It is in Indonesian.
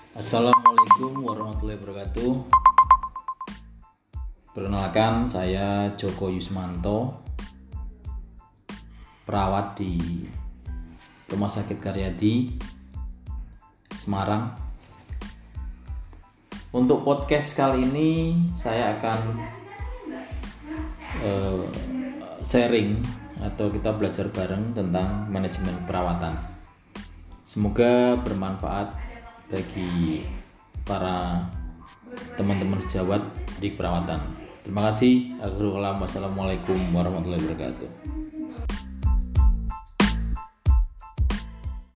Assalamualaikum warahmatullahi wabarakatuh. Perkenalkan, saya Joko Yusmanto, perawat di Rumah Sakit Karyadi, Semarang. Untuk podcast kali ini saya akan sharing atau kita belajar bareng tentang manajemen perawatan. Semoga bermanfaat bagi para teman-teman sejawat di perawatan. Terima kasih. Wassalamualaikum warahmatullahi wabarakatuh.